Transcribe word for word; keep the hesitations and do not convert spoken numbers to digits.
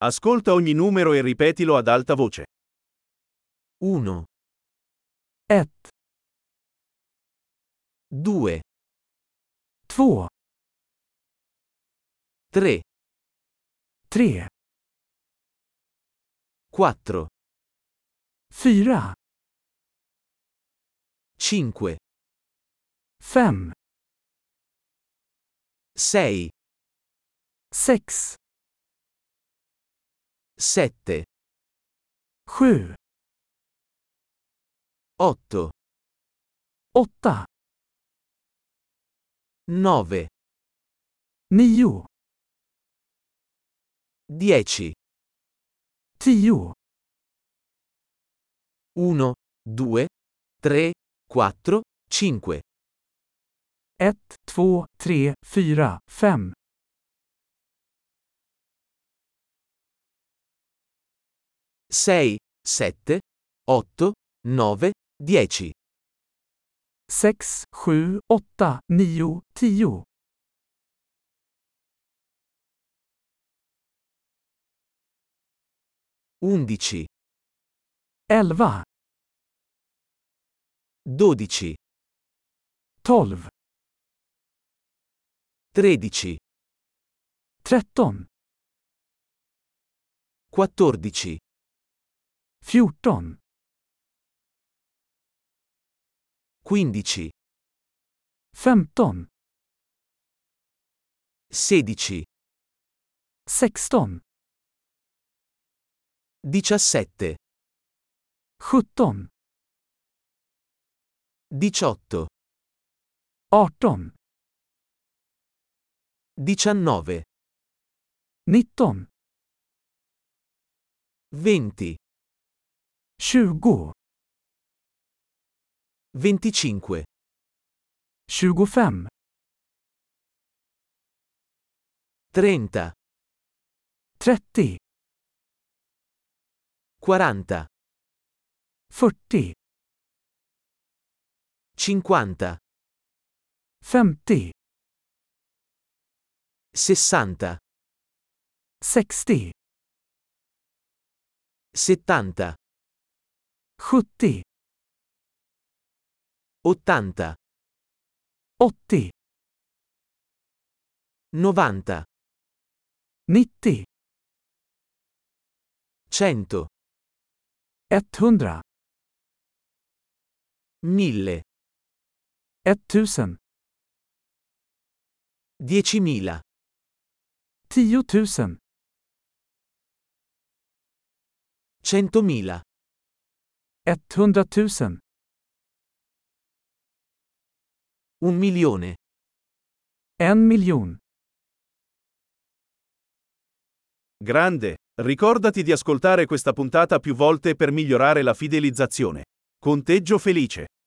Ascolta ogni numero e ripetilo ad alta voce. uno, ett, due, två, tre, tre, quattro, fyra, cinque, fem, sei, sex, sette, sju, otto, åtta, nove, nio, dieci, tio, uno, due, tre, quattro, cinque, ett, två, tre, fyra, fem, sei, sette, otto, nove, dieci, sex, sju, åtta, nio, tio, undici, elva, dodici, tolv, tredici, tretton, quattordici, fjorton, quindici, femton, sedici, sexton, diciassette, sjutton, diciotto, arton, diciannove, nitton, venti, tjugo, venticinque, tjugofem, trenta, trettio, quaranta, fyrtio, cinquanta, femtio, sessanta, sextio, settanta, sjuttio, ottanta, åttio, novanta, nittio, cento, etthundra, mille, etttusen, diecimila, tiotusen, centomila, etthundratusen, un milione. en miljon. Grande! Ricordati di ascoltare questa puntata più volte per migliorare la fidelizzazione. Conteggio felice.